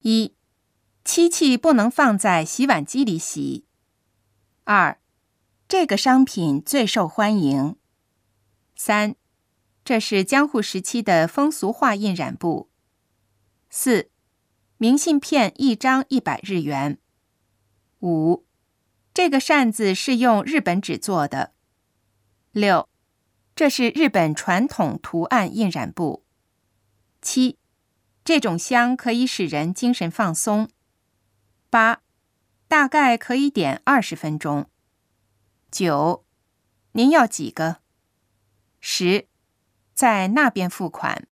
1. 漆器不能放在洗碗机里洗。2. 这个商品最受欢迎。3. 这是江户时期的风俗画印染布。4. 明信片1张100日元。5. 这个扇子是用日本纸做的。6. 这是日本传统图案印染布。7. 这种香可以使人精神放松。8. 大概可以点20分钟。9. 您要几个？10. 在那边付款。